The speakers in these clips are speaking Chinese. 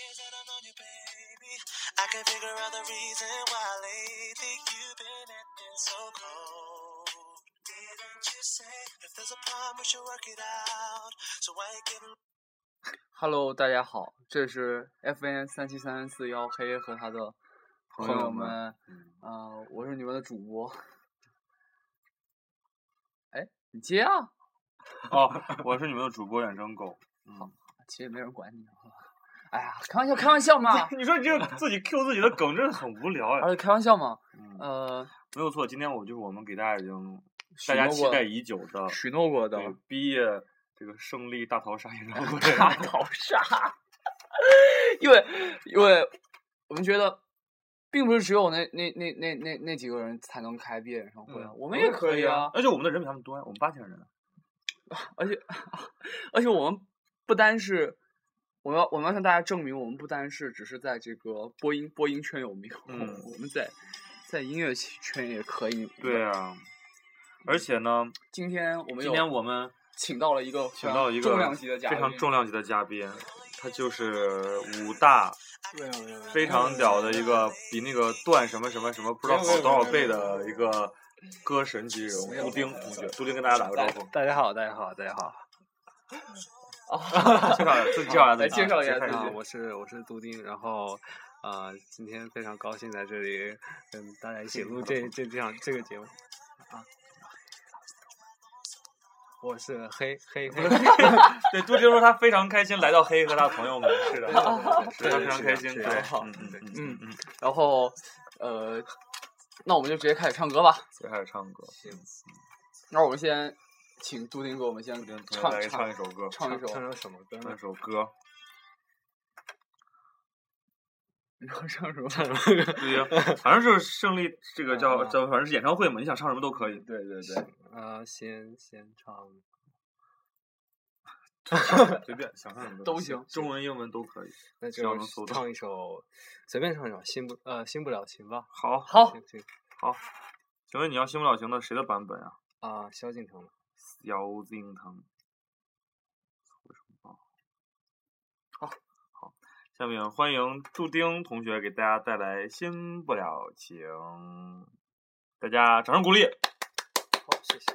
years that I've known you, baby, I can't figure out the reason why lately you've been acting so cold. Didn't you say if there's a problem we should work it out? So why you giving?Hello， 大家好，这是 FN37341黑和他的朋友们，我是你们的主播。哎，你接啊！ 哦，我是你们的主播远征狗。 好，其实也没人管你。哎呀，开玩笑嘛！ 你说你这个自己 Q 自己的梗真的很无聊哎。 而且开玩笑嘛。 没有错，今天我们给大家大家期待已久的许诺过的毕业这个胜利大逃杀演唱会。 大逃杀。因为我们觉得，并不是只有那几个人才能开毕业演唱会啊，我们也可以啊。 而且我们的人比他们多呀，我们8000人。 而且我们不单是，我们要向大家证明，我们不单是只是在这个播音圈有名，我们在音乐圈也可以。 对啊，而且呢， 今天我们请到了一个非常重量级的嘉宾， 他就是武大非常屌的一个，比那个段什么不知道好多少倍的一个歌神级人物，杜丁同学。杜丁跟大家打个招呼。 大家好。 自己介绍一下。 我是杜丁，然后今天非常高兴在这里跟大家一起录这个节目啊。我是黑。 对，杜丁说他非常开心来到黑和他朋友们，是的，是他非常开心。对， 然后那我们就直接开始唱歌吧。 行。 那我们先请杜丁给我们先唱一首歌。 唱什么歌呢？ 唱首歌。 你要唱什么？ 对，反正就是胜利，这个叫反正是演唱会嘛，你想唱什么都可以。 对。 先唱。 随便想唱什么都行， 中文英文都可以。 那就唱一首，随便唱一首新不了情吧。 好。 行。 请问你要新不了情的谁的版本啊？ 萧敬腾的。 萧敬腾。好，下面欢迎杜丁同学给大家带来新不了情，大家掌声鼓励。 好，谢谢。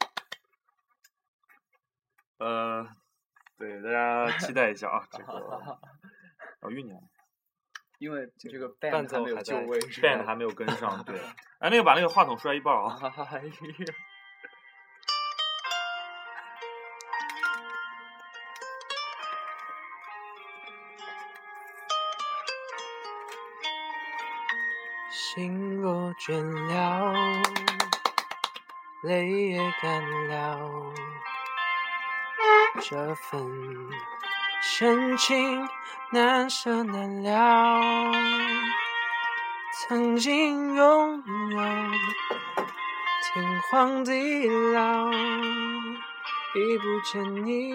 对，大家期待一下啊，这个酝酿。 因为这个 band 还没有就位 ，band 还没有跟上。对，哎，把那个话筒摔一半啊！ 心若倦了，泪也干了，这份深情难舍难了。曾经拥有天荒地老，已不见你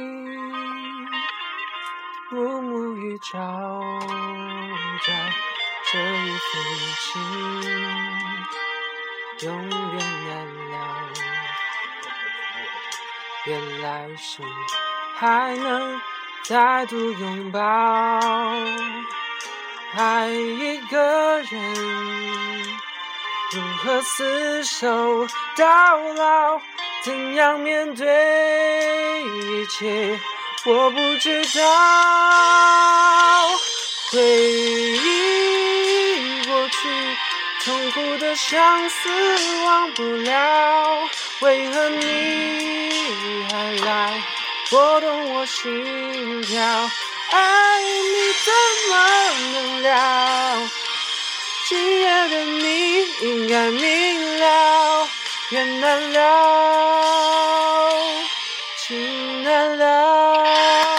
暮暮与朝朝。这一份情永远难了，愿来生还能再度拥抱。爱一个人如何厮守到老，怎样面对一切我不知道。回忆过去痛苦的相思忘不了，为何你还来拨动我心跳？爱你怎么能了？今夜的你应该明了，缘难了，情难了。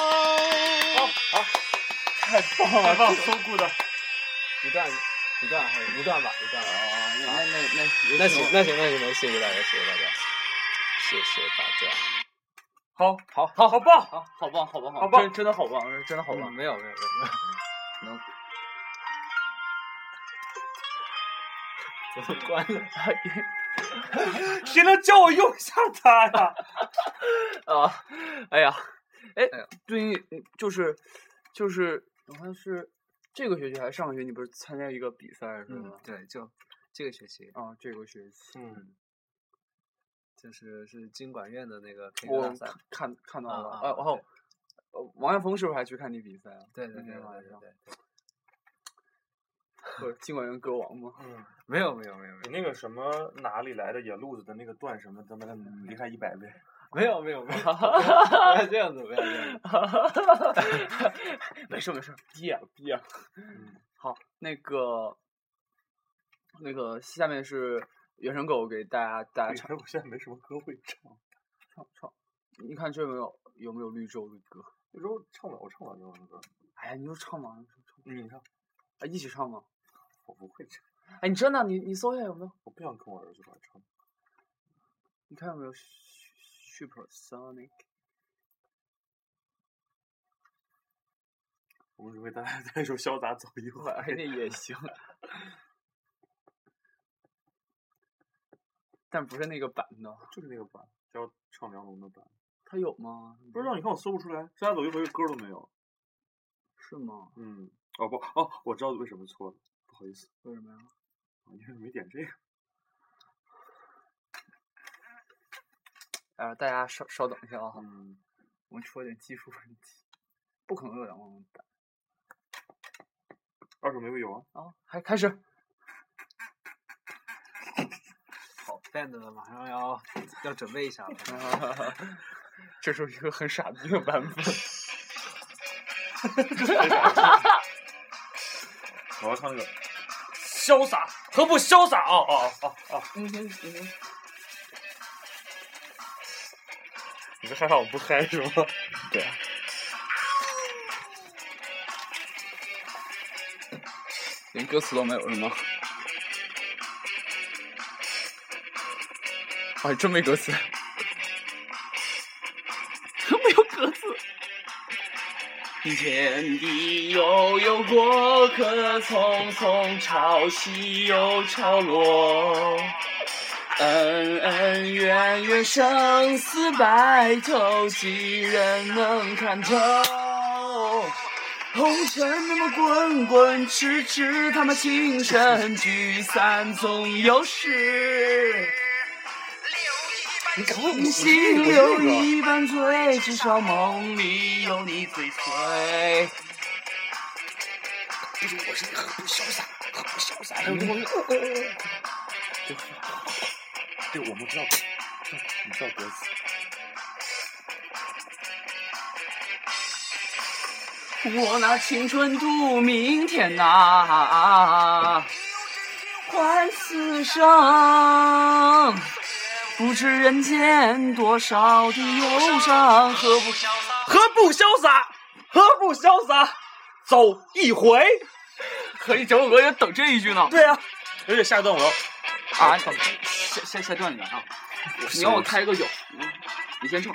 太棒了， 搜顾的一段吧。 那行，谢谢大家，谢谢大家。 好棒，真的好棒， 没有， 能怎么关了？ 谁能叫我用一下它呀？ 哎呀，对，就是，好像是这个学期还是上个学期，你不是参加一个比赛是吗？ 对，就这个学期。 啊，这个学期。 就是经管院的那个 K 歌大赛。 我看到了，然后王艳峰是不是还去看你比赛啊？ 对。 经管院歌王吗？ 没有。 你那个什么哪里来的野路子的那个段什么，他妈的厉害100倍。 没有，不要这样子，不要这样子。 没事，逼啊。好，那个，下面是原声狗给大家唱。 我现在没什么歌会唱。 唱，你看这有没有绿洲的歌？ 绿洲唱不了，我唱不了英文歌。 哎呀，你就唱嘛， 你唱。 啊，一起唱吗？ 我不会唱。 哎，你真的，你搜一下有没有？ 我不想跟我儿子一块唱。 你看有没有 Supersonic？ 我们准备大家再说潇洒走一会儿。 那也行。但不是那个版的。 就是那个版，叫唱梁龙的版。 他有吗？ 不知道，你看我搜不出来，潇洒走一回歌都没有。 是吗？ 我知道为什么错了，不好意思。 为什么呀？ 因为没点这个。 大家稍等一下啊。我们出了点技术问题，不可能有两万版。 二手玫瑰有啊。 还开始。 好 ，band 的马上要准备一下了。 这是一个很傻逼的版本。 我要唱那个潇洒，何不潇洒？你是害怕我不嗨是吗？ 对啊。连歌词都没有是吗？还真没歌词。没有歌词。天地悠悠，过客匆匆，潮起又潮落。恩恩怨怨，生死白头，几人能看透？红尘那么滚滚，痴痴他妈情深，聚散总有时。心留一半醉，至少梦里有你最催。就是我是一个很不潇洒。 对，我们知道，你知道歌词。 我拿青春赌明天呐，换此生。不知人间多少的忧伤，何不潇洒，走一回。可以，整首歌也等这一句呢。 对啊，而且下一段我要下段里面啊，你让我开一个有，你先唱。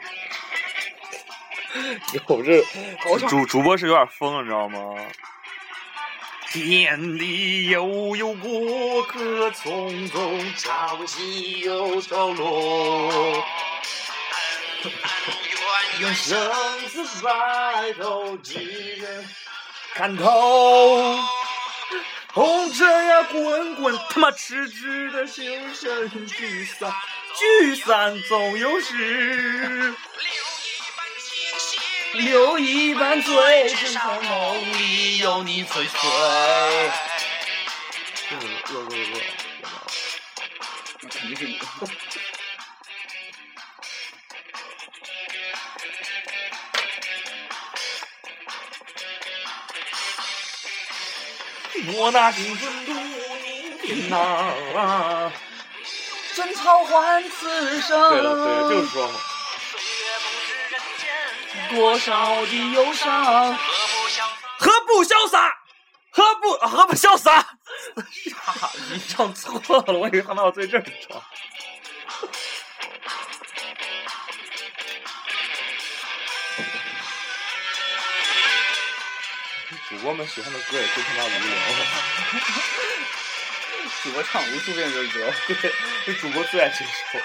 我这主播是有点疯了，你知道吗？天地悠悠，过客匆匆，潮起又潮落。愿生死白头，几人看透？红尘呀滚滚，他妈痴痴的心神，聚散总有时。 留一半醉，至少梦里有你最催。那肯定是你。 我拿青春赌明天呐， 真草换此生。 对了，就是说嘛。 多少的忧伤， 何不潇洒？何不潇洒？你唱错了，我以为他们要在这儿唱。主播们喜欢的歌也真他妈无聊。 主播唱无数遍这歌， 对，这主播最爱这首。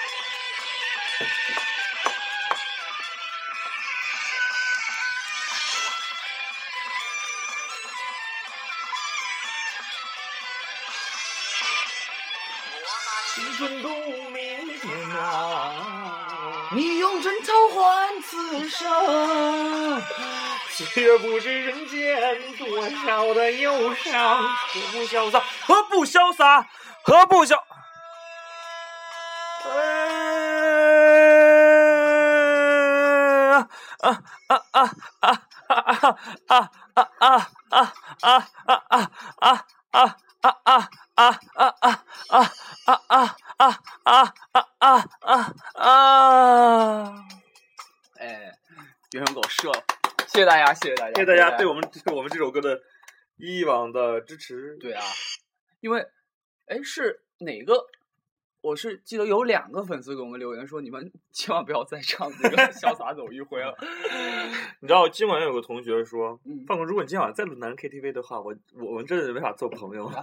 青春度蜜天啊， 你用枕头换此生。 却不知人间多少的忧伤，何不潇洒？何不潇洒？何不潇？ 哎，有人给我射了，谢谢大家，谢谢大家， 谢谢大家对我们这首歌的以往的支持。 对啊，因为，哎，是哪个？我是记得有2个粉丝给我们留言说，你们千万不要再唱这个《潇洒走一回》了。 你知道今晚有个同学说，范哥，如果你今晚再录男人 KTV 的话，我们真的没法做朋友。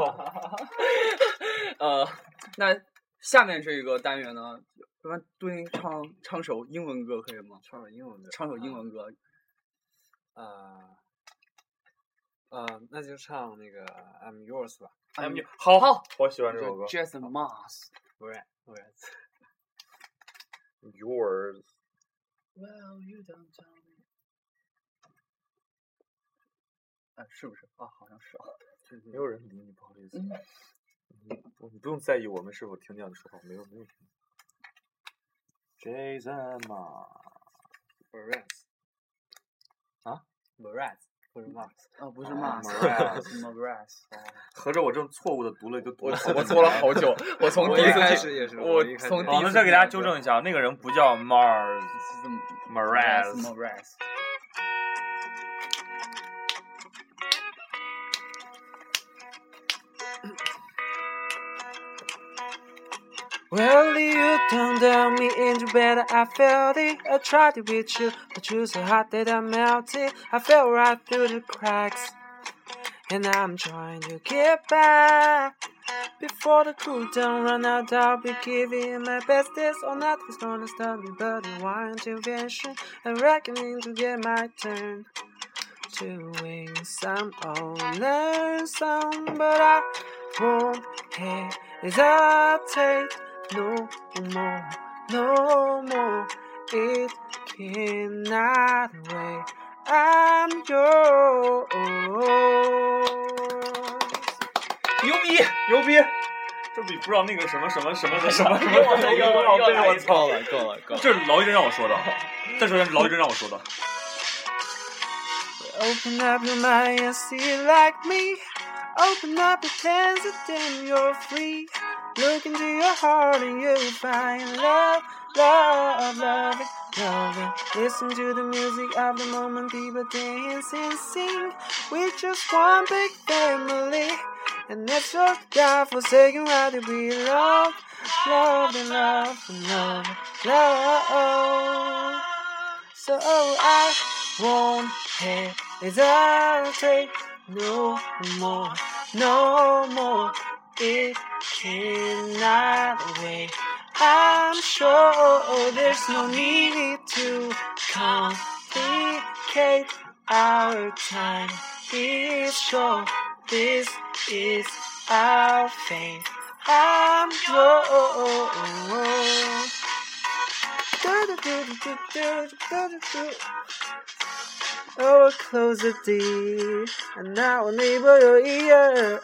那下面这个单元呢，要不然对您唱首英文歌可以吗？ 唱首英文歌。 唱首英文歌。 那就唱那个 I'm Yours 吧。 好，我喜欢这首歌。 Jason Mars。 Yours。 Well, you don't tell me。是不是啊？好像是啊。 没有人理你，不好意思。你不用在意我们是否听见你说话，没有听。Jason Mraz。啊 ？Mraz。不是 Mars， 不是 Mars， 合着我这种错误的读了就读了， 我错了好久。我从第一开始也是， 我从第一次再给大家纠正一下，那个人不叫 Mraz。 Well, you turned down me into bed, I felt it. I tried to beat you, but you so hot that I melted. I fell right through the cracks, and I'm trying to get back. Before the cool down run out, I'll be giving my best. Oh, nothing's gonna stop me but a one intervention. I'm reckoning to get my turn to win some or learn some, but I won't hesitate. No more, it cannot wait. I'm yours. 牛逼！这比不知道那个什么的什么， 我操了，够了。 这是劳一真让我说的，再说一遍，劳一真让我说的。 Open up your mind and see it like me. Open up your hands and then you're free. Look into your heart and you'll find love. Listen to the music of the moment, people dance and sing. We're just one big family, and that's what God forsaken right to be loved. So I won't hesitate no more. It cannot wait. I'm sure there's no need to complicate our time. It's sure this is our fate. I'm yours. Oh, close the door, and now I'll neighbor your ear.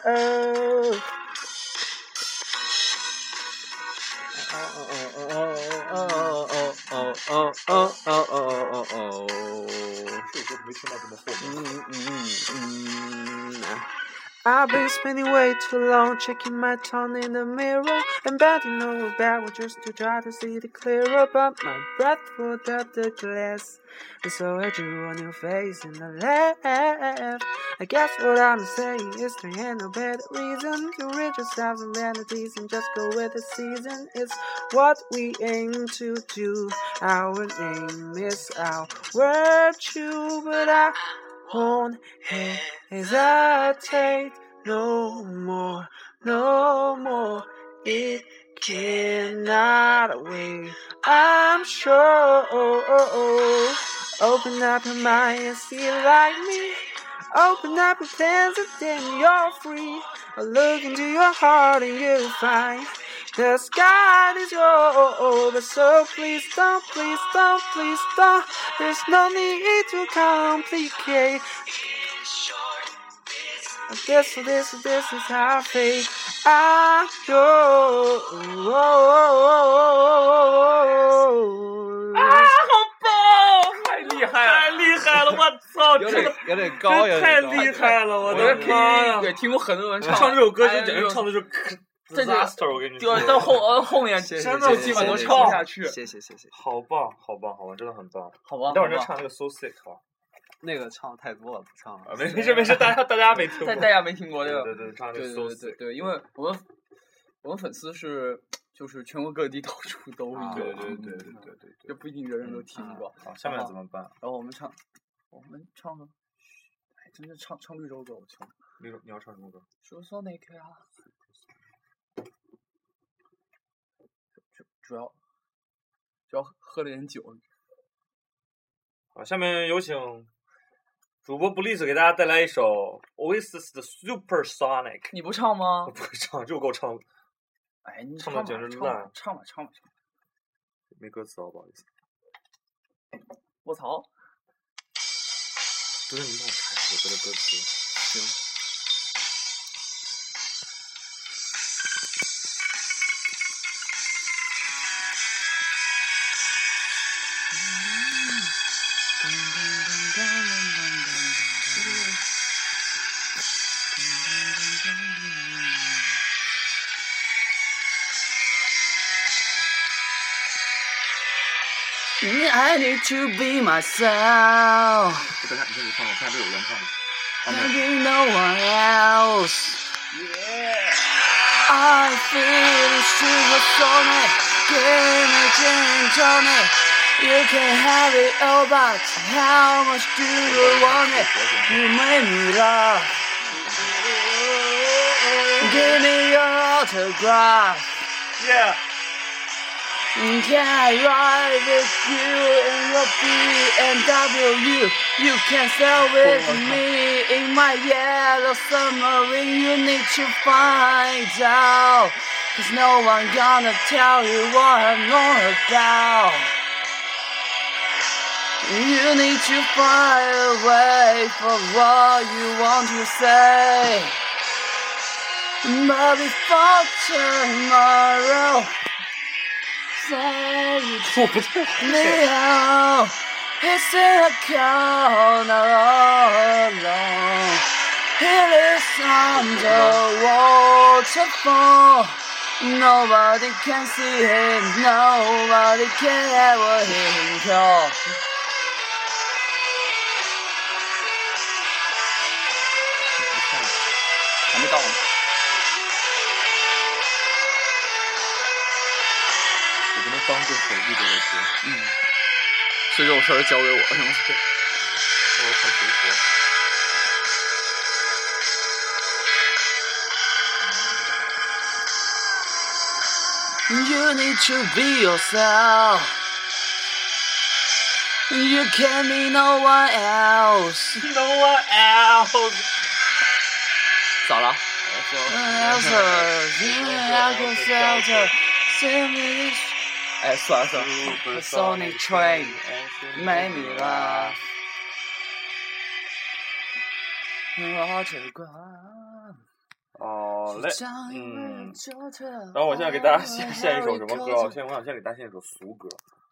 I've been spending way too long checking my tongue in the mirror and bending over backward just to try to see it clearer, but my breath pulled up the glass, and so I drew a new face in the left. I guess what I'm saying is there ain't no better reason to rid yourselves of vanities and just go with the season. It's what we aim to do. Our name is our virtue, but I won't hesitate no more. It cannot wait. I'm sure. Open up your mind and see it like me. Open up your plans and then you're free. Look into your heart and you'll find The sky is over, so please don't, please don't, please don't. There's no need to complicate. This is how fate I go. 好棒！太厉害了，太厉害了！我操， 有点高， 太厉害了！我的妈呀！ 对，听过很多人唱这首歌，就简直唱的是 disaster， 我跟你说。 到后面真的基本都唱不下去。 谢谢。 好棒，真的很棒。 好吧。 待会儿再唱那个 So Sick 好。 那个唱太多了，不唱了。 没事，大家没听过。 大家没听过这个。 对，唱那个 So Sick。 对，因为我们粉丝就是全国各地到处都有。 对， 就不一定人人都听过。 好，下面怎么办？ 然后我们唱呢？哎，真的唱绿洲歌，我唱。 你要唱什么歌？ 说说那个啊。主要喝了点酒。 好，下面有请主播布利斯给大家带来一首 Oasis 的 Supersonic。 你不唱吗？ 不会唱，就够唱。 哎，你唱的简直烂。 唱吧。 没歌词哦，不好意思。 我操！ 不是你帮我查这首歌的歌词。 行。I need to be myself. 等下，你先别唱，我看这有原唱的。 There be no one else. Yeah. I feel supersonic. Give me gin tonic. You can have it all, but how much do you want it? You make me laugh. Give me your autograph. Yeah. Can I ride with you in your BMW? You can sail with me in my yellow submarine. You need to find out, 'cause no one gonna tell you what I'm all about. You need to find a way for what you want to say. But before tomorrow, say me out. It's in a corner all alone. It is under waterfall. Nobody can see him. Nobody can ever hear him call. 还没到呢。 我不能当这首绿洲的歌。 所以这种事儿交给我是吗？ 我要唱谁佛。 You need to be yourself. You can't be no one else. No one else. 咋了？哎，算了。Sonic train made me laugh. 哦嘞，然后我现在给大家献一首什么歌啊？我想先给大家献一首俗歌。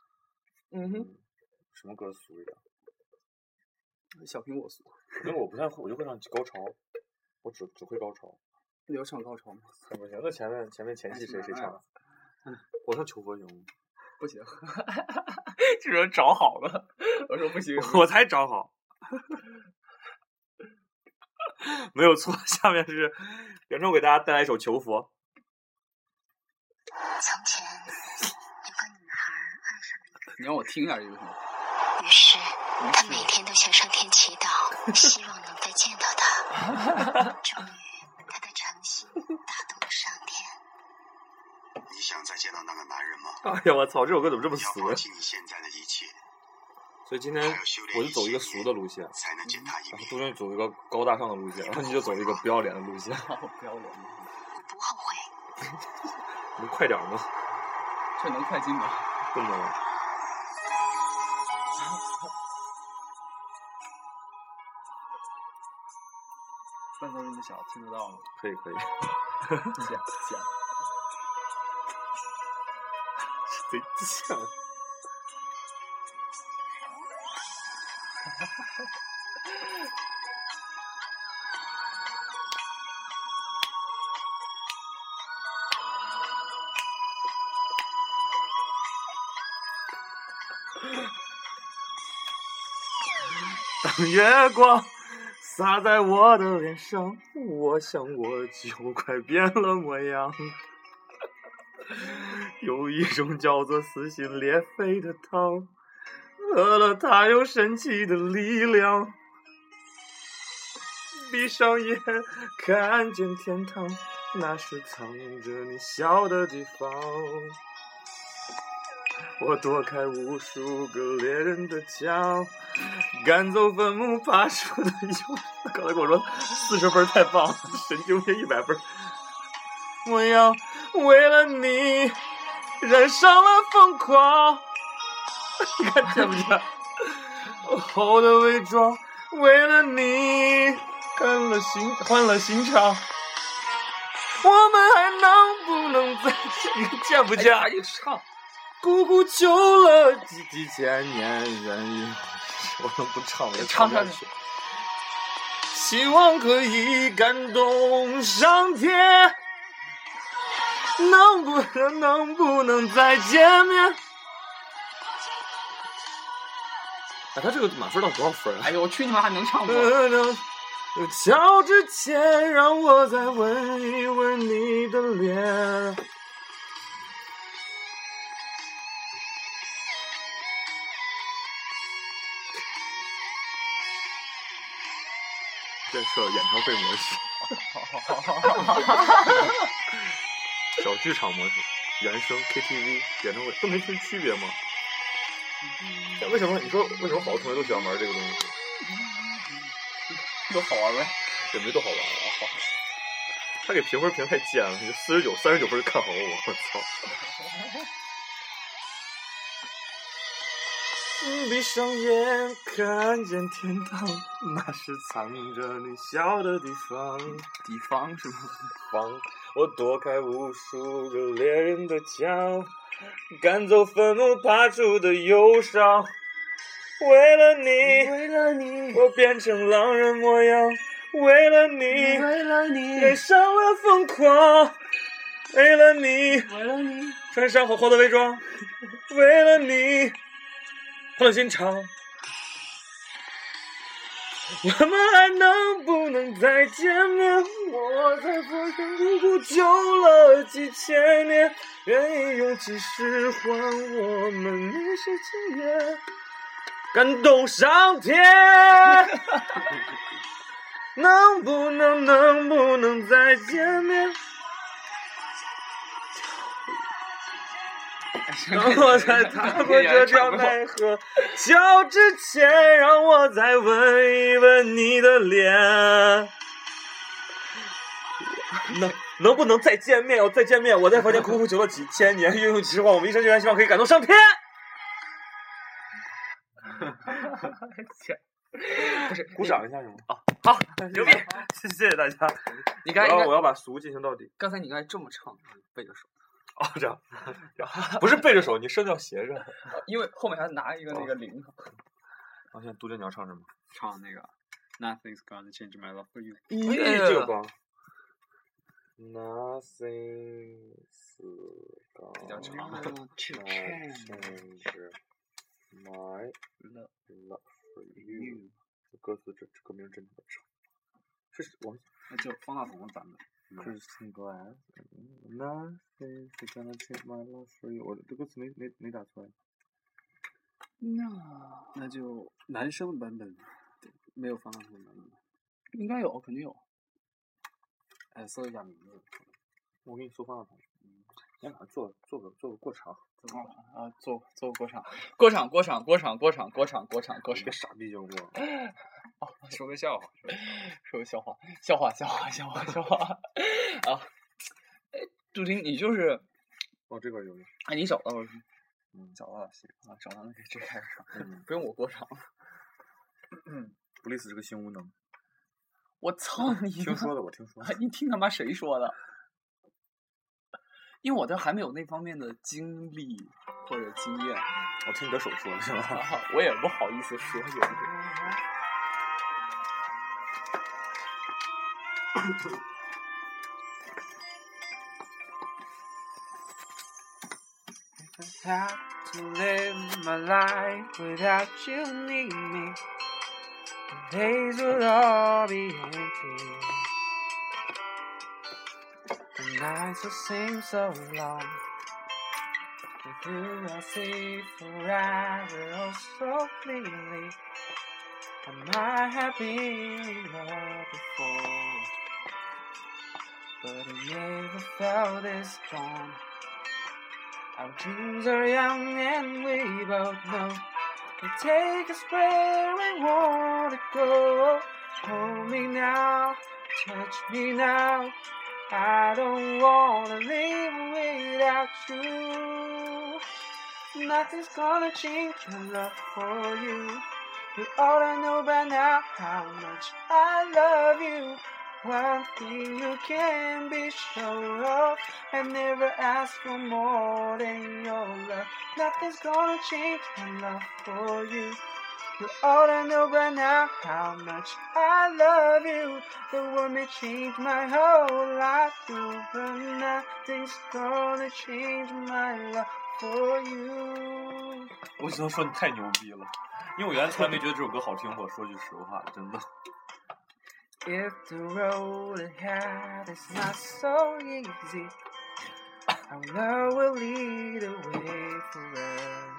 什么歌俗一点？ 小苹果俗。 因为我不太会，我就会唱高潮，我只会高潮。 你要唱高潮吗？ 不行，那前戏谁唱？我唱求佛行吗？ 不行，这人找好了。我说不行， 我才找好。没有错，下面是袁周给大家带来一首《求佛》。 从前有个女孩爱上了一个人， 你让我听一下这个。 于是她每天都向上天祈祷，希望能再见到他。终于，她的诚心打动了上天。 你想再见到那个男人吗？ 哎呀，我操！这首歌怎么这么俗？ 要放弃你现在的一切。 所以今天我就走一个俗的路线， 才能见他一面。 然后杜鹃走一个高大上的路线，然后你就走一个不要脸的路线。 我不后悔。 能快点吗？ 这能快进吗？ 不能。 伴奏这么小，听得到吗？ 可以。 讲。 贼像。当月光洒在我的脸上，我想我就快变了模样。有一种叫做撕心裂肺的汤，喝了它有神奇的力量。闭上眼看见天堂，那是藏着你笑的地方。我躲开无数个猎人的枪，赶走坟墓爬出的幽。刚才跟我说40分太棒了，神经病100分。我要为了你染上了疯狂，你看见不见？后的伪装，为了你换了心肠。我们还能不能再见不见？ 一唱。 苦苦求了几千年，愿意我能不唱我就唱下去。希望可以感动上天，能不能再见面？哎，他这个满分到多少分啊？ 哎呦，我去你妈，还能唱吗？ 敲之前，让我再吻一吻你的脸。建设演唱会模式，小剧场模式，原声 KTV 演唱会都没什么区别吗？为什么你说为什么好多同学都喜欢玩这个东西？ 多好玩呗， 也没多好玩啊！好，他给评分评太贱了，39分看好我操！闭上眼看见天堂，那是藏着你笑的地方。 地方是吗？ 方，我躲开无数个猎人的枪，赶走坟墓爬出的忧伤。为了你，我变成狼人模样。为了你，染上了疯狂。为了你，穿上厚厚的伪装。为了你。换了心肠，我们还能不能再见面？我在佛山苦苦求了几千年，愿意用几世还我们那些情缘，感动上天。能不能再见面？让我再踏过这条奈何桥之前，让我再吻一吻你的脸。能不能再见面？再见面！我在房间苦苦求了几千年，运用几世话，我们一生就愿希望可以感动上天。不是，鼓掌一下行吗？啊，好，牛逼！谢谢大家。 你刚我要把俗进行到底。 刚才你刚才这么唱，背着手。 哦，这样，不是背着手，你声要斜着， 因为后面还拿一个那个铃。 现在杜鹃你要唱什么？ 唱那个 Nothing's gonna change my love for you。 这个光。Nothing's gonna change my love for you。歌词这歌名真的长，是我那就方大同的版本。 Christian Glass, nothing's gonna change my love for you。我这歌词没打出来。 那就男生的版本，没有方大同的版本。应该有，肯定有。哎，搜一下名字。 我给你搜方大同。先把它做个过场。 啊，做个过场。 别傻逼行不？ 哦，说个笑话啊！哎，杜婷，你就是哦，这个有。 哎，你找到了？ 找到了，行啊，找到了，这开始唱， 嗯， 不用我过场了。 布里斯是个新无能。 我操你！ 听说的，我听说的。 你听他妈谁说的？因为我这还没有那方面的经历或者经验。 我听你的手说的是吧？ 我也不好意思说有的。If I had to live my life without you near me, the days would all be empty. The nights would seem so long. With you I see forever oh so clearly. I might have been in love before, but I never felt this strong. Our dreams are young and we both know they take us where we want to go. Hold me now, touch me now. I don't wanna live without you. Nothing's gonna change my love for you. You ought to know by now how much I love you. One thing you can be sure of, I never ask for more than your love. Nothing's gonna change my love for you. You ought to know by now how much I love you. The world may change my whole life through, but nothing's gonna change my love for you. 我只能说你太牛逼了，因为我原来从来没觉得这首歌好听过，说句实话，真的。 If the road ahead is not so easy, our love will lead the way for us.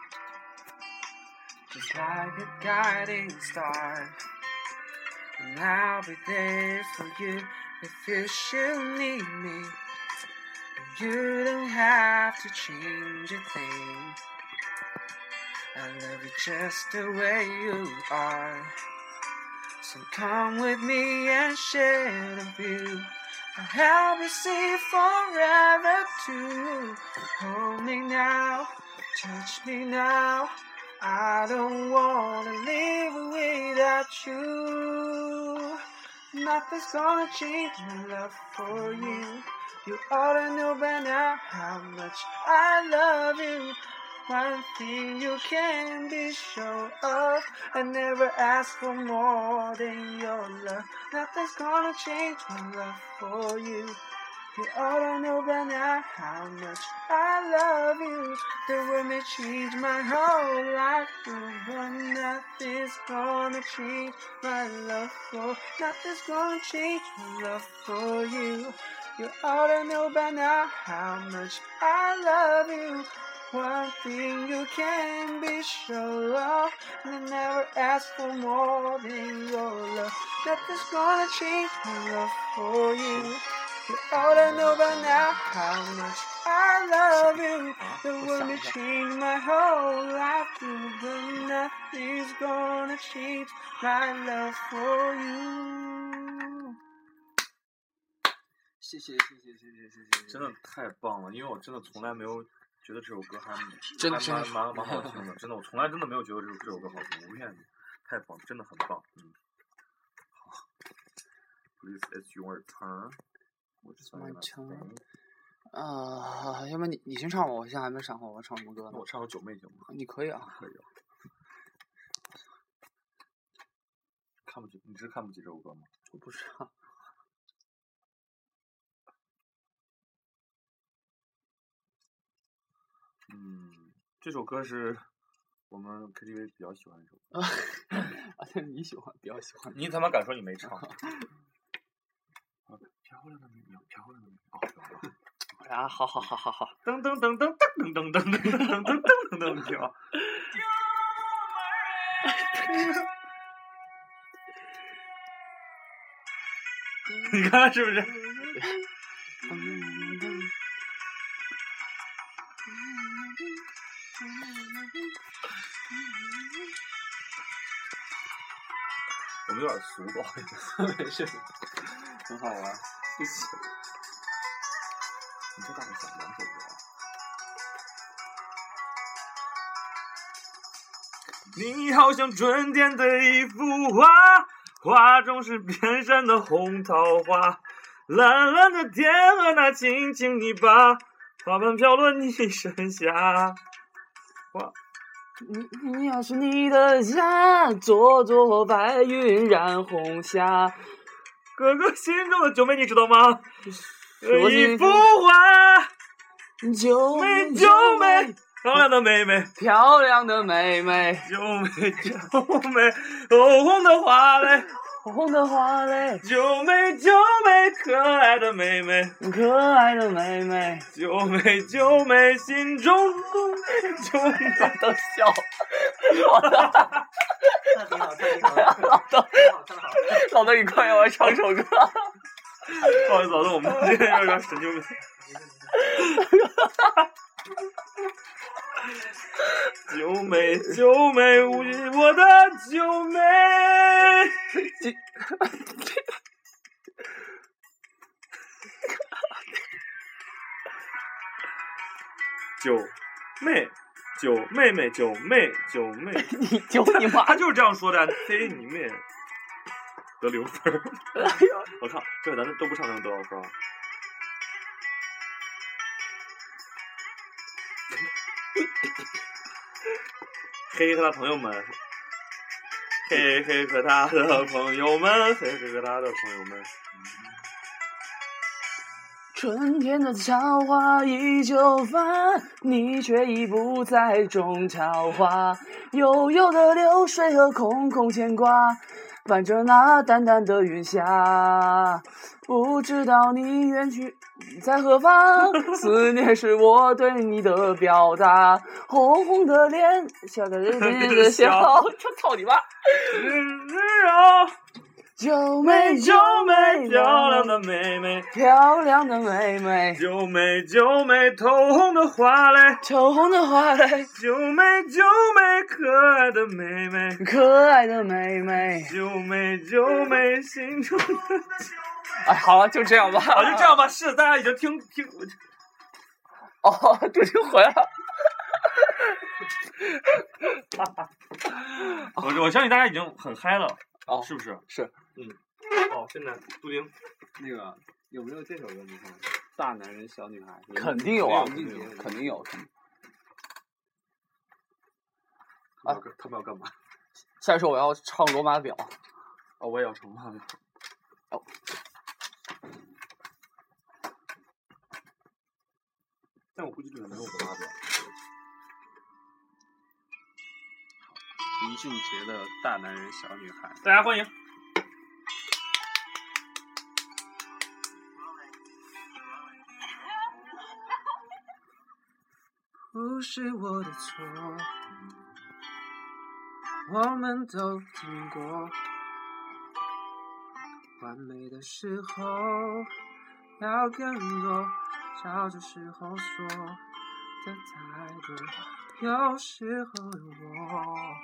Just like a guiding star, and I'll be there for you if you should need me. You don't have to change a thing. I love you just the way you are. So come with me and share the view. I'll help you see forever too. Hold me now, touch me now. I don't wanna live without you. Nothing's gonna change my love for you. You ought to know by now how much I love you. One thing you can be sure of, I never ask for more than your love. Nothing's gonna change my love for you. You ought to know by now how much I love you. The world may change my whole life through, but nothing's gonna change my love for. Nothing's gonna change my love for you. You ought to know by now how much I love you. One thing you can be sure of, and I never ask for more than your love. Nothing's gonna change my love for you. You ought to know by now how much I love you. The world may change my whole life through, but nothing's gonna change my love for you. 谢谢， 真的太棒了，因为我真的从来没有觉得这首歌还蛮好听的，真的，我从来真的没有觉得这首歌好听，我不骗你，太棒，真的很棒，好 ，Please, it's your turn. It's my turn. 要不你先唱吧，我现在还没想好我要唱什么歌呢。 那我唱首九妹行吗？ 你可以啊。 可以啊。你是看不起这首歌吗？ 我不知道。 这首歌是我们 KTV 比较喜欢的一首歌。 对，你喜欢，比较喜欢。 你他妈敢说你没唱？漂亮的美女，漂亮的美女。哦， 啊，好。 噔噔噔噔噔噔噔噔噔噔噔噔跳。你看是不是？我们有点俗，不好意思。 没事，很好玩。谢谢。 你这大概想2首歌啊？ 你好像春天的一幅画，画中是遍山的红桃花，蓝蓝的天和那青青泥巴，花瓣飘落你身下。 你要是你的家，座座白云染红霞。 哥哥心中的九妹你知道吗？一幅画， 九妹九妹，漂亮的妹妹， 漂亮的妹妹， 九妹九妹，红红的花嘞， 红的花嘞， 九妹九妹，可爱的妹妹， 可爱的妹妹， 九妹九妹，心中九妹都笑，老豆，你快让我唱首歌。 不好意思，老豆，我们今天有点神经病。九妹九妹，我的九妹。九妹，九妹妹，九妹，九妹。 你九你妈！ 他就是这样说的，嘿你妹！得0分。我唱，这回咱都不唱，能得多少分？嘿嘿和他朋友们，嘿嘿和他的朋友们，嘿嘿和他的朋友们。 春天的桃花依旧繁，你却已不在种桃花。悠悠的流水和空空牵挂，伴着那淡淡的云霞。不知道你远去在何方，思念是我对你的表达。红红的脸，笑的人的笑，操你妈！九妹九妹， 漂亮的妹妹， 漂亮的妹妹， 九妹九妹，透红的花嘞， 透红的花嘞， 九妹九妹，可爱的妹妹， 可爱的妹妹， 九妹九妹，心中的。 哎，好了，就这样吧。 好，就这样吧。是，大家已经听。 哦，终于回来了。 我相信大家已经很嗨了。 哦， 是不是？ 是。 好，现在杜丁， 那个有没有这首歌？你看，大男人小女孩。 肯定有啊，肯定有。 他们要干嘛？ 下一首我要唱《罗马表》。 哦，我也要唱罗马表。 哦。 但我估计这个没有罗马表。 林俊杰的《大男人小女孩》， 大家欢迎。 不是我的错，我们都听过，完美的时候要更多，笑的时候说的太多，有时候的我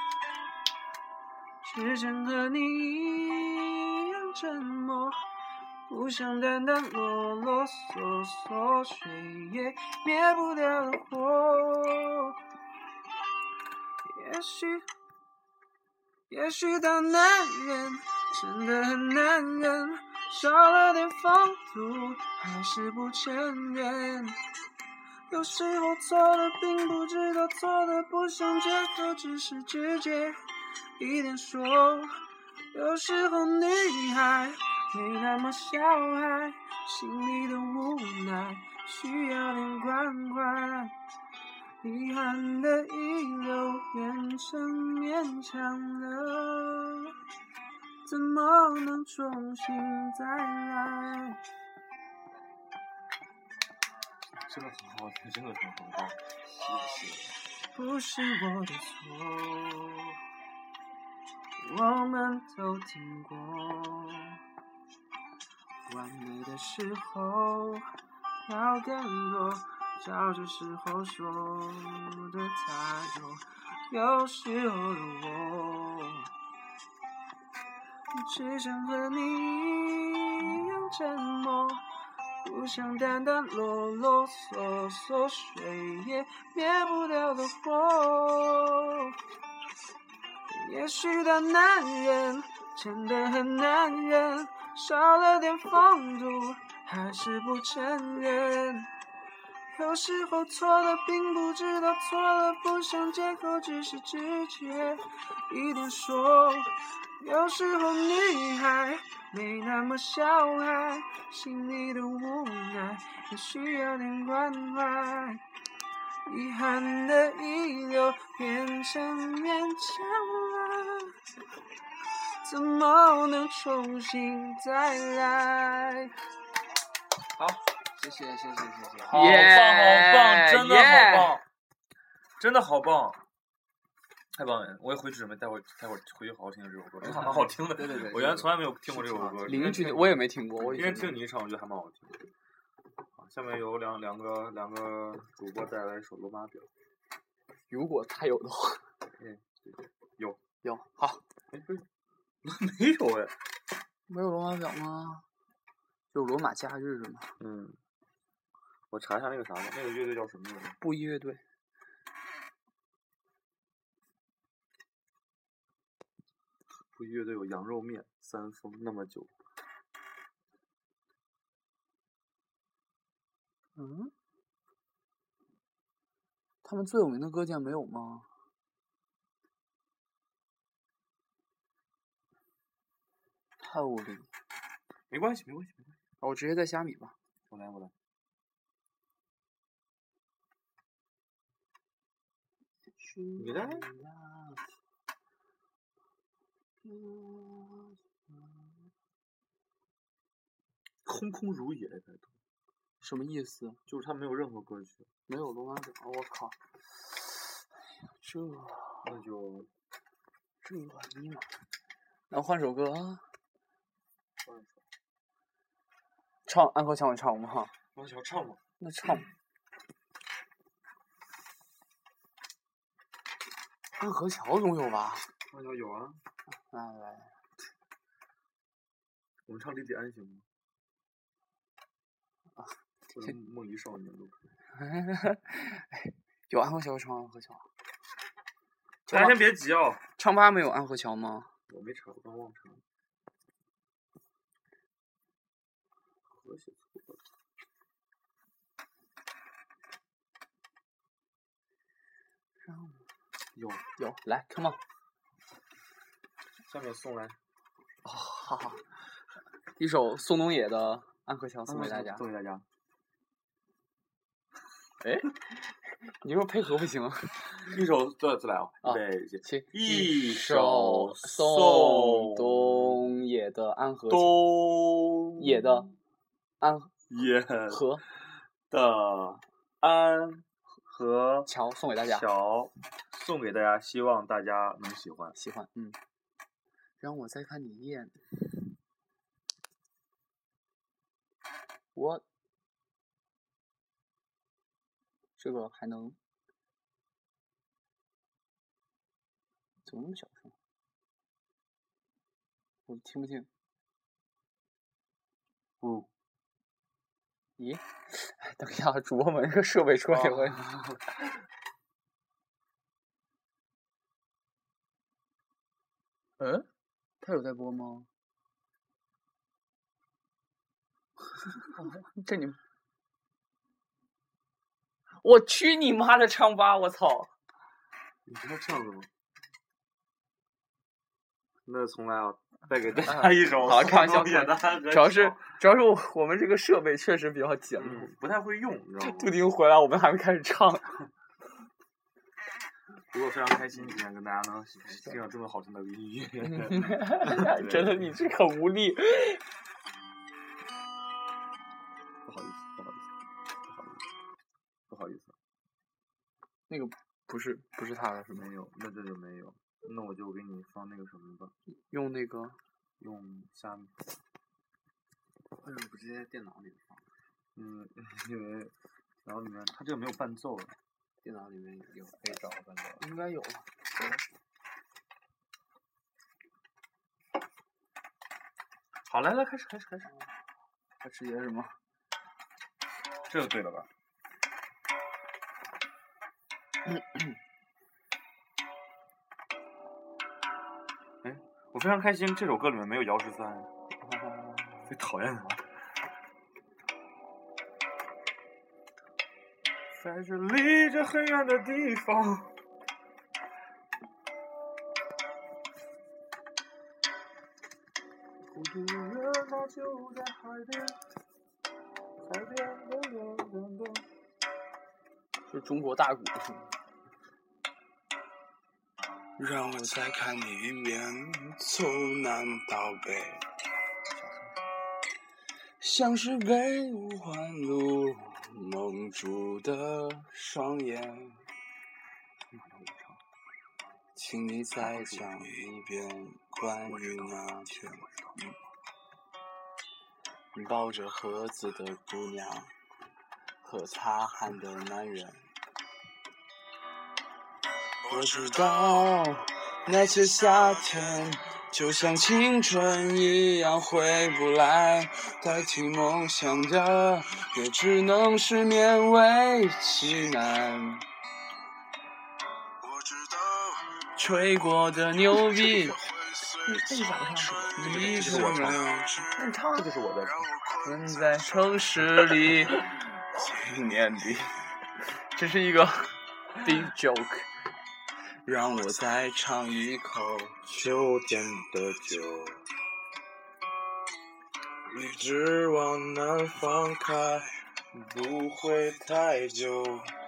只想和你一样沉默，不想单单啰啰嗦嗦，谁也灭不掉的火。也许大男人真的很男人，少了点风度，还是不承认。有时候错的并不知道错的，不想接受，只是直接一点说。有时候女孩没那么小孩，心里的无奈需要点关怀，遗憾的遗留变成勉强了，怎么能重新再来？ 真的很好听，真的很好听，谢谢。 不是我的错，我们都听过，完美的时候要更多，笑的时候说的太多，有时候的我只想和你一样沉默，不想单单啰啰嗦嗦，谁也灭不掉的火。 也许大男人真的很男人，少了点风度，还是不承认。有时候错了并不知道错了，不想借口，只是直觉一点说。有时候女孩没那么小孩，心里的无奈也需要点关怀。遗憾的遗留变成勉强了，怎么能重新再来？ 好，谢谢。 好棒，真的好棒，真的好棒，太棒了！我也回去准备待会儿回去好好听听这首歌，真的蛮好听的。 对， 我原来从来没有听过这首歌。 邻居我也没听过， 今天听你一唱，我觉得还蛮好听的。下面有两个主播带来一首《罗马表》， 如果他有的话。 有， 好。 没有哎。 没有罗马表吗？有罗马假日是吗？ 我查一下那个啥吧，那个乐队叫什么名字？ 布衣乐队。 布衣乐队有羊肉面、三丰、那么久。 他们最有名的歌竟然没有吗？太无力。 没关系。 我直接在虾米吧。 我来。你来。空空如也， 什么意思？ 就是他没有任何歌曲， 没有罗马表。我靠！ 那就尼玛！那换首歌啊。唱安河桥，你唱吗？ 安河桥唱吗？ 那唱。安河桥总有吧？ 安河桥有啊。 来。 我们唱李李安行吗？或者梦遗少年都可以。 有安河桥唱安河桥。 大家先别急哦。 唱吧没有安河桥吗？ 我没查，我刚忘查了。和谐错了。 有，来 ，come on。 下面送来。 好。一首宋冬野的《安河桥》送给大家。 送给大家。 哎，你说配合不行？ 一首再来啊！ 一首宋冬野的《安河桥》。野的安河的安河桥送给大家。 送给大家，希望大家能喜欢。 让我再看你一眼。这个还能怎么那么小声？我听不清。咦？等一下，主播们这个设备出了点问题。他有在播吗？这你，我去你妈的唱吧！我操！ 你知道这样子吗？那从来啊，再给大家一首。 好，开玩笑。主要是我们这个设备确实比较简陋， 不太会用，你知道吗？ 杜丁回来，我们还没开始唱。 不过非常开心，今天跟大家能听到这么好听的音乐。 真的，你这很无力。 不好意思。 那个不是他的是没有，那这就没有。那我就给你放那个什么吧。 用那个。 用下面。为什么不直接在电脑里放？因为然后里面它这个没有伴奏。电脑里面有可以找个伴奏。 应该有。 好，来，开始。 他直接什么？ 这个对了吧？ 我非常开心，这首歌里面没有姚13，最讨厌他。在这离着很远的地方。孤独的人那就在海边，海边的。 是中国大鼓是吗？ 让我再看你一遍，从南到北，像是被五环路蒙住的双眼。请你再讲一遍关于那天抱着盒子的姑娘和擦汗的男人。我知道那些夏天就像青春一样回不来，代替梦想的也只能是勉为其难。吹过的牛逼这咋不唱？ 一直没有那你唱， 这就是我的。 困在城市里几年里， 这是一个 big joke。 让我再尝一口秋天的酒，一直往南方开，不会太久。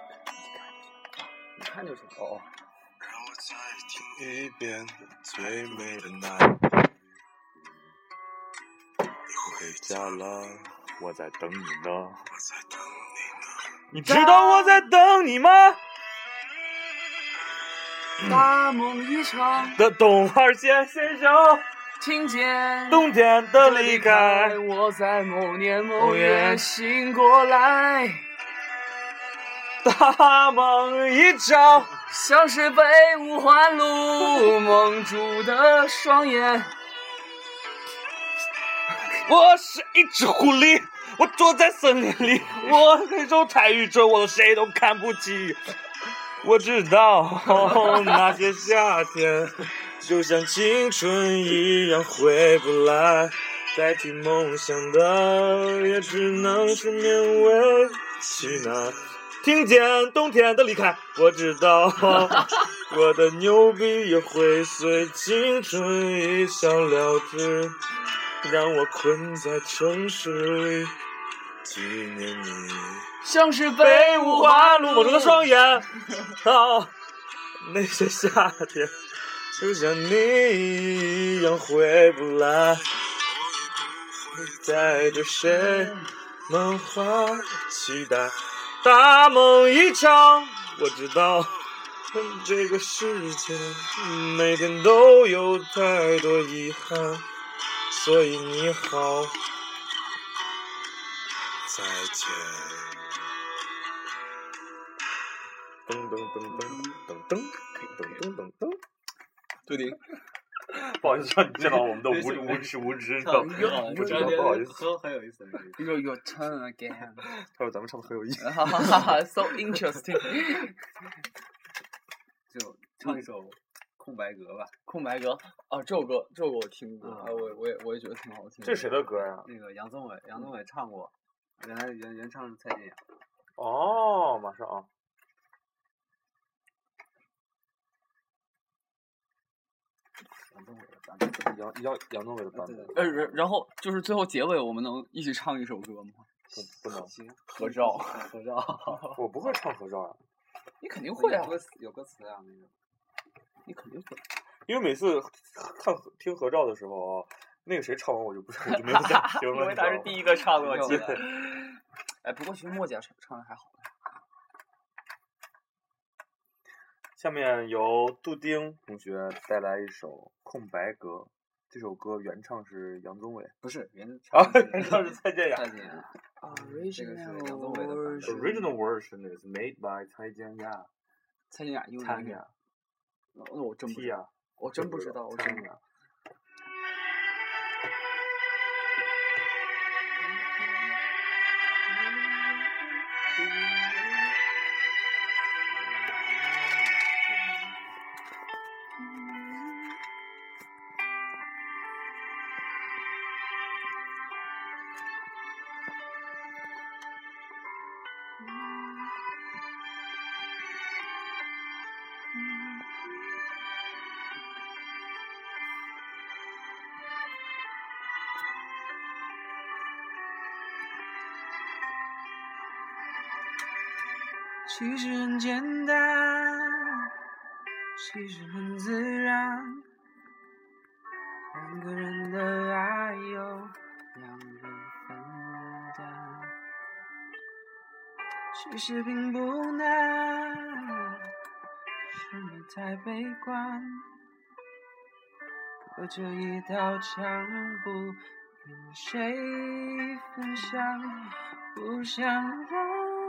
你看就行。哦。 让我再听一遍最美的那一句。你回家了， 我在等你呢。 我在等你呢。 你知道我在等你吗？ 大梦一场的东二线先生， 听见冬天的离开， 我在某年某月醒过来， 大梦一场， 像是被五环路蒙住的双眼。 我是一只狐狸，我躲在森林里，我那种泰语这我谁都看不起。我知道那些夏天就像青春一样回不来，代替梦想的也只能是勉为其难。听见冬天的离开，我知道我的牛逼也会随青春一笑了之，让我困在城市里纪念你， 像是被五环路蒙住的双眼。那些夏天就像你一样回不来，带着谁满怀期待，大梦一场。我知道这个世界每天都有太多遗憾，所以你好，再见。噔噔噔噔噔噔噔噔噔。 对的。 不好意思，让你见到我们的无知，你知道吗？不知道，不好意思。 很有意思。 Your turn again。 他说咱们唱的很有意思。 哈哈哈哈 ，so interesting。 就唱一首《空白格》吧。 空白格啊，这首歌我听过，我也觉得挺好听。 这是谁的歌呀？ 那个杨宗纬唱过，原来原唱是蔡健雅。 哦，马上啊。 杨宗纬的版本， 杨宗纬的版本。 然后就是最后结尾，我们能一起唱一首歌吗？ 不能。 行， 合照。 合照。 我不会唱合照啊。 你肯定会啊。 有歌词啊，那个。 你肯定会。 因为每次听合照的时候啊，那个谁唱完我就没有再听了。 因为他是第一个唱的，我记得。哎，不过其实莫姐唱的还好。 下面由杜丁同学带来一首《空白格》，这首歌原唱是杨宗纬， 不是原唱是蔡健雅。 蔡健雅。这个是杨宗纬的版本。 Original version is made by 蔡健雅。 蔡健雅用蔡健雅。 那我真不知道，我真不知道，我真不知道。 其实很简单，其实很自然，两个人的爱由两人分担，其实并不难，是你太悲观，隔着一道墙不跟谁分享，不想让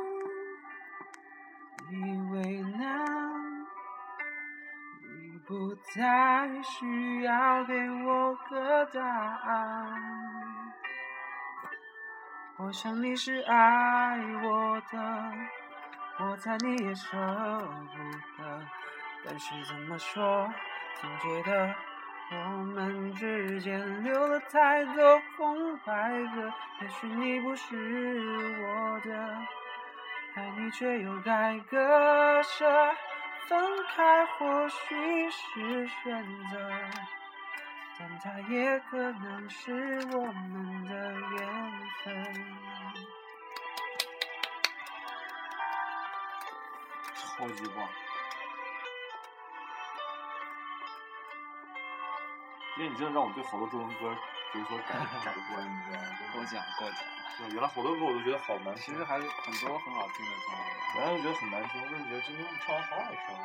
你为难，你不再需要给我个答案。我想你是爱我的，我猜你也舍不得，但是怎么说，总觉得我们之间留了太多空白格。也许你不是我的，爱你却又该割舍，分开或许是选择，但它也可能是我们的缘分。 超级棒！因为你真的让我对好多中文歌有所改观，你知道吗？ 过奖。 原来好多歌我都觉得好难听， 其实还有很多很好听的歌。 原来就觉得很难听，我真的觉得今天唱完好好听。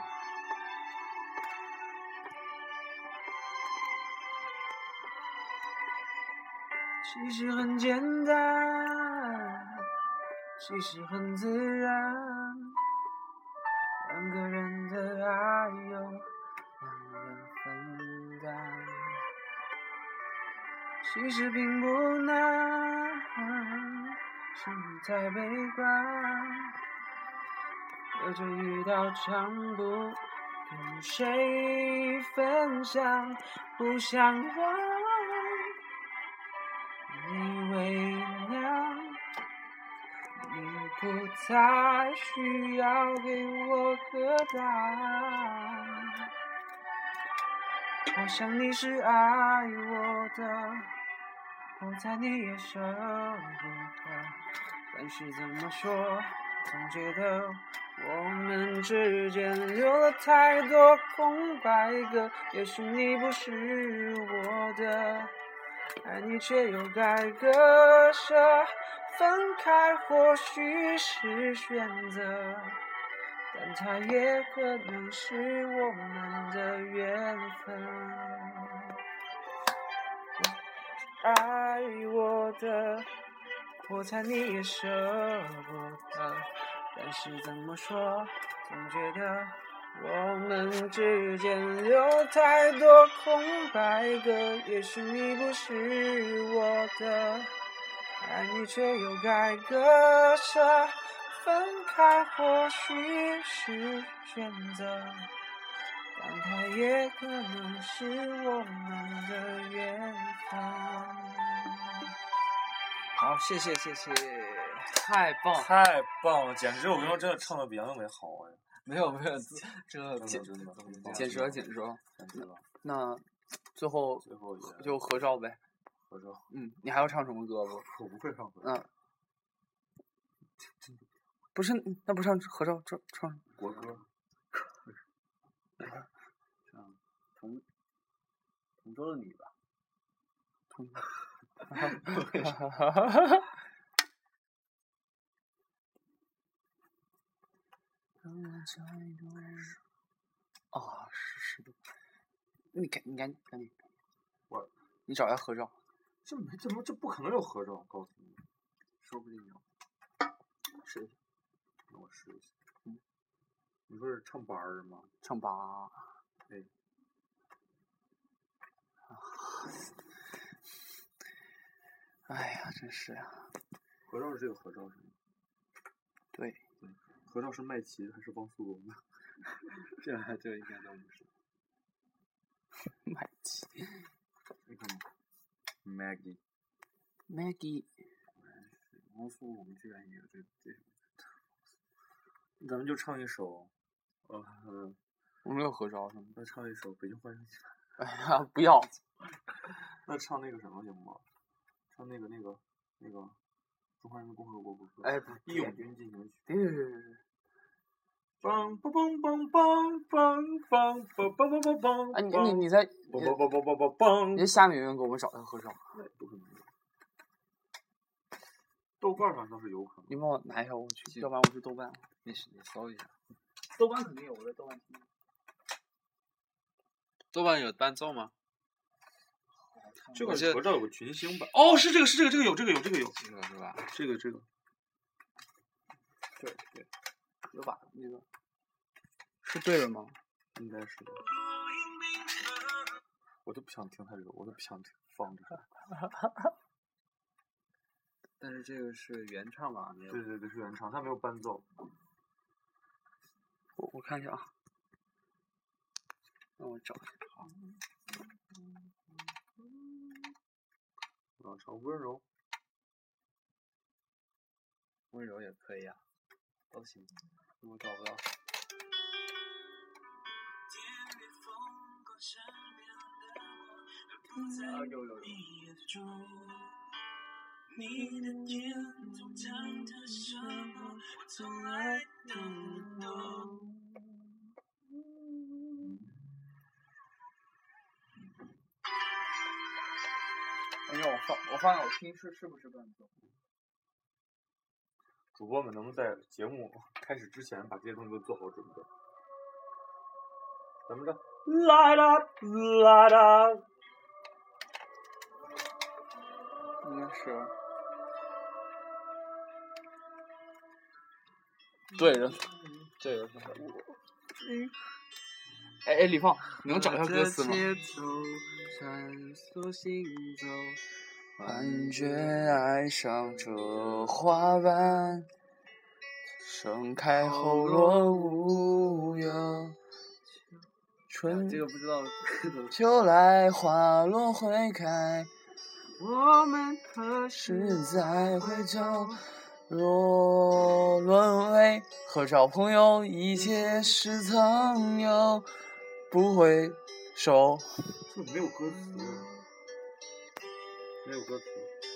其实很简单，其实很自然，两个人的爱由两人分担，其实并不难，是你太悲观，隔着一道墙不跟谁分享，不想让你为难，你不再需要给我个答案。我想你是爱我的，我猜你也舍不得，但是怎么说，总觉得我们之间留了太多空白格。也许你不是我的，爱你却又该割舍，分开或许是选择，但它也可能是我们的缘分。爱我的，我猜你也舍不得，但是怎么说，总觉得我们之间留太多空白格。也许你不是我的，爱你却又该割舍，分开或许是选择，但它也可能是我们的缘分。好，谢谢， 太棒了，简直！我跟你说，真的唱的比杨宗纬好哎。 没有，这简说。那最后就合照呗。 合照。 你还要唱什么歌不？ 我不会唱合照。 不是，那不唱合照，唱国歌。 同桌的你吧。是的。你赶紧。你找一下合照。 这不可能有合照，告诉你。 说不定有。试一下。 那我试一下。你说是唱八儿吗？ 唱八。 对。 哎呀，真是呀！ 合照是这个合照是吗？ 对。 合照是麦琪还是汪苏泷呢？ 这应该都不是。麦琪。 你看吗 ？Maggie。 汪苏泷居然也有这。 咱们就唱一首， 我们有合照是吗？ 那唱一首《北京欢声喜》。 哎呀，不要。 那唱那个什么行吗？唱那个中华人民共和国国歌。 哎， 义勇军进行曲。 对。 梆梆梆梆梆梆梆梆梆梆梆。 啊，你在梆梆梆梆梆梆梆。 你在下面有人给我们找一下合唱。 豆瓣上倒是有可能。 你帮我拿一下我去，要不然我去豆瓣。 你搜一下。 豆瓣肯定有，我在豆瓣听。 豆瓣有伴奏吗？ 这个合照有个群星版。哦，是这个有。这个是吧？这个。对， 有吧？那个是对了吗？ 应该是的。我就不想听他这个，我就不想放这个。 但是这个是原唱吧？ 对，是原唱，他没有伴奏。 我看一下啊，让我找一下。好。 唱温柔。 温柔也可以啊，都行。我找不到。 啊，有。 你的眼中藏着什么，我从来都不懂。 哎呀，我放我听是不是伴奏？ 主播们能不能在节目开始之前把这些东西都做好准备？怎么着？啦啦啦啦！ 应该是。对人。哎，李放，你能找一下歌词吗？幻觉爱上这花瓣，盛开后若无有。春这个不知道。 秋来花落会开，我们何时再回头？若沦为合照朋友，一切是曾有，不回首。 这没有歌词。没有歌词。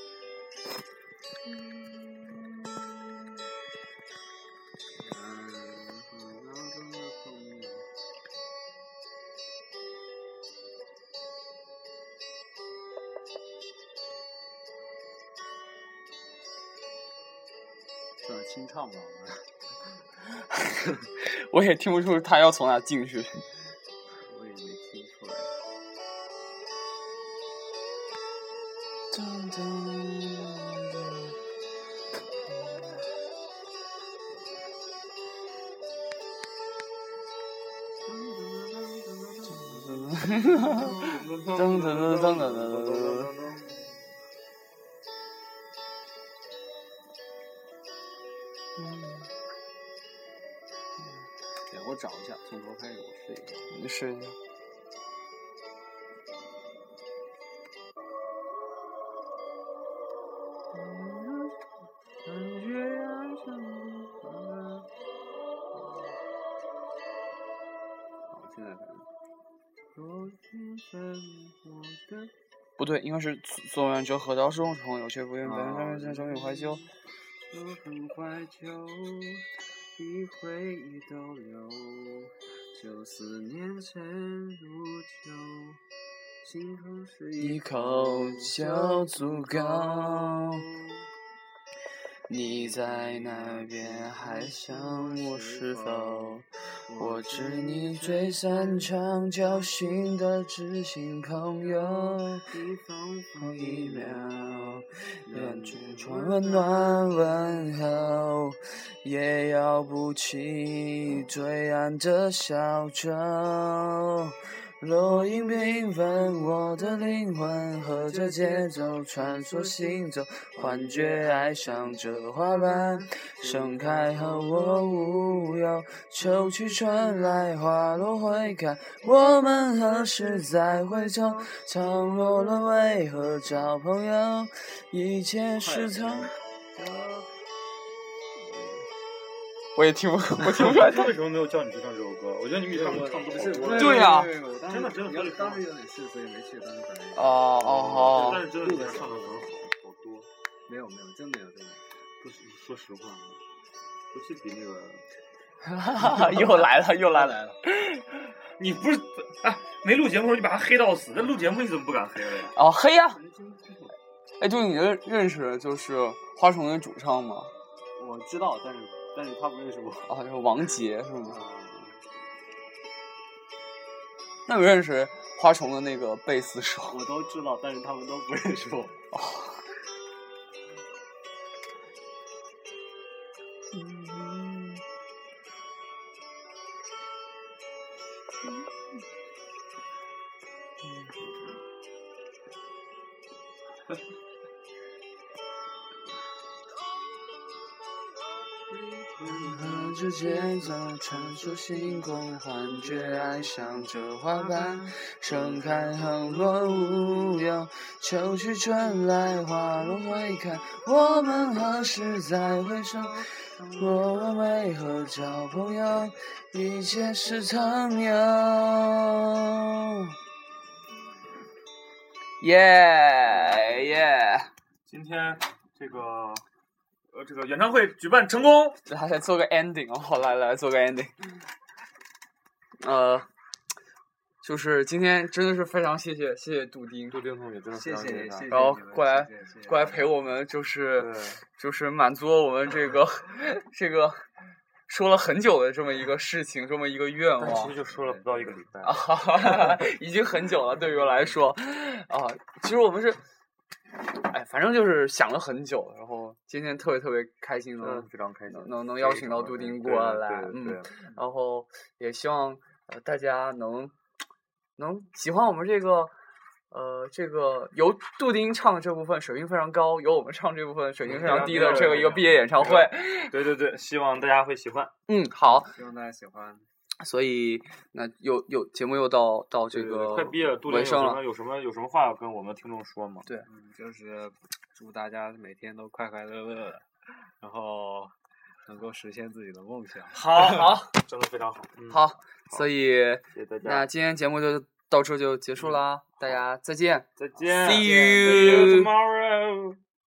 算清唱吧， 我也听不出他要从哪进去。 我也没听出来。我找一下，从头开始我试一下。 你试一下。 好，现在可能。 不对，应该是纵然这河道是朋友，却不愿本上面终于怀旧。 很怀旧，一回忆都留，就思念沉如酒，心头是一口就足够。你在那边还想我是否？我知你最擅长交心的知心朋友，一分一秒，两句传温暖问候，也要不起对岸的小舟。落英缤纷，我的灵魂和着节奏穿梭行走，幻觉爱上这花瓣，盛开后我无忧。秋去春来，花落会开，我们何时再回头？倘若沦为何找朋友？一切是曾。我听不出来他为什么没有叫你去唱这首歌？我觉得你比他们唱都好多。 对呀， 真的， 当时有点事，所以没去。当时本来。 但是真的比他唱的可能好多。 没有，真没有。 不是，说实话，不是比那个又来了。 你不是没录节目的时候你把他黑到死，那录节目你怎么不敢黑了呀？ 哦，黑呀！哎，就你认识就是花虫的主唱吗？ 我知道，但是他不认识我。 啊，就是王杰是吗？那你认识花虫的那个贝斯手？ 我都知道，但是他们都不认识我。 哦。和着节奏穿梭星空，幻觉爱上这花瓣盛开横落无忧，秋去春来花落会开，我们何时再回首？我们为何交朋友？一切是曾有。耶！ 今天这个演唱会举办成功， 来做个 ending 哦，来做个 ending。就是今天真的是非常谢谢杜丁同学，真的非常谢谢，然后过来陪我们，就是满足了我们这个说了很久的这么一个事情，这么一个愿望。 其实就说了不到1个礼拜啊，已经很久了，对于我来说啊，其实我们是。反正就是想了很久，然后今天特别开心的， 非常开心， 能邀请到杜丁过来，然后也希望大家能喜欢我们这个由杜丁唱这部分水平非常高，由我们唱这部分水平非常低的这个一个毕业演唱会。 对，希望大家会喜欢。 好， 希望大家喜欢。 所以那节目又到这个快毕业了，杜丁有什么话要跟我们听众说吗？ 对， 就是祝大家每天都快快乐乐的，然后能够实现自己的梦想。 好， 真的非常好。 好，所以谢谢大家。 那今天节目就到这就结束啦，大家再见。 再见 ，See you tomorrow。